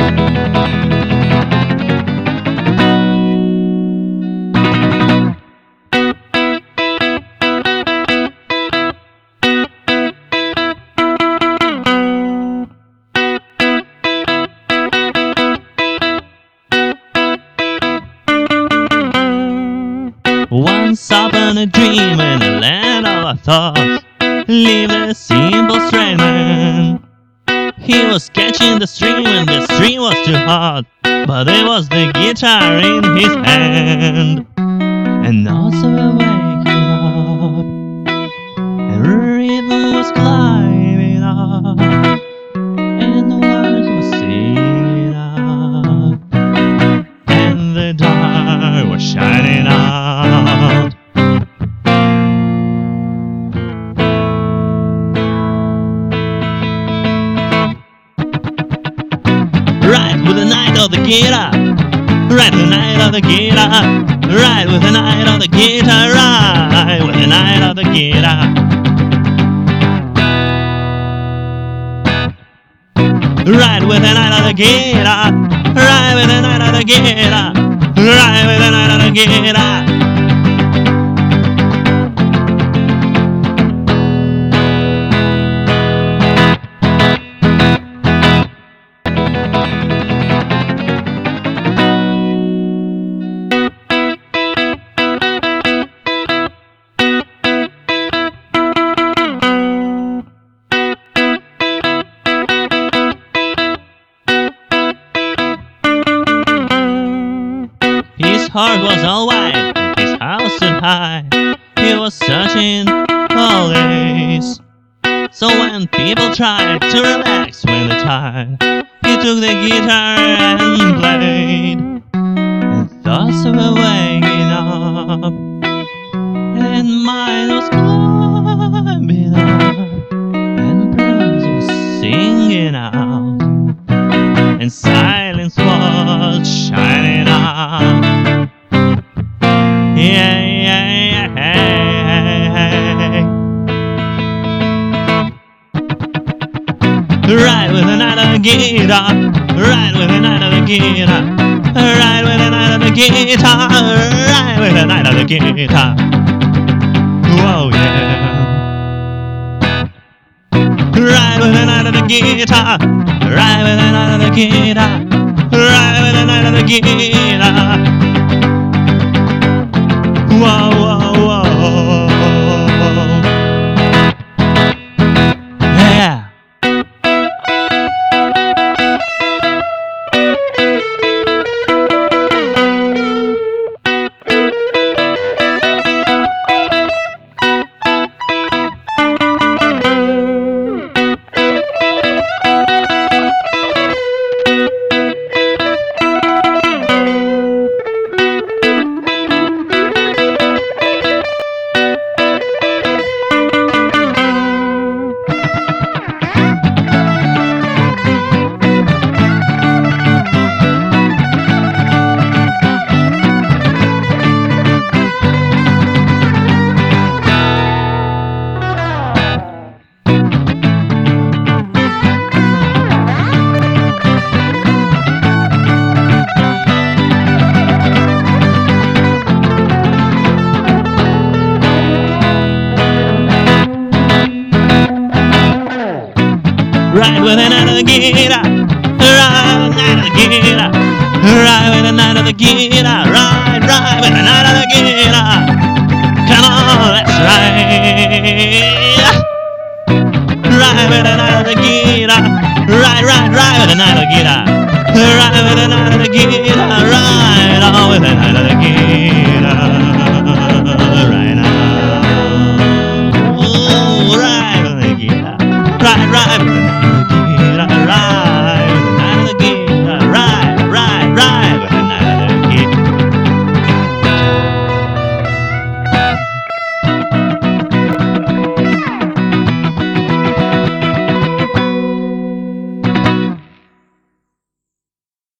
Once upon a dream in a land of our thoughts lived a simple straight man. He was catching the stream and the stream was too hot, but there was the guitar in his hand. And also waking up, and rhythm was climbing up, and the words were singing out, and the dark was shining out. Right with the night of the guitar, right with the night of the guitar, right with the night of the guitar, right with the night of the guitar. Right with the night of the guitar, right with the night of the guitar, right with the night of the guitar. His heart was all white, his house stood high. He was searching always. So when people tried to relax when they're tired, he took the guitar and played. And thoughts were waking up, and mine was climbing up, and birds were singing out, and silence was shining out. Yeah, yeah, yeah, hey. Right with the night of the guitar, right with the night of the guitar, right with the night of the guitar, right with the night of the guitar. Whoa, yeah. Right with the night of the guitar, right with the night of the guitar, right with the night of the guitar. Whoa, whoa, whoa. Yeah. Right with the night of the guitar, right with the night of the guitar, right with the night of the guitar, right with the night of the guitar. Come on, that's right. Right with the night of the guitar, right with the night of the guitar, right with the night of the guitar, right on with the night.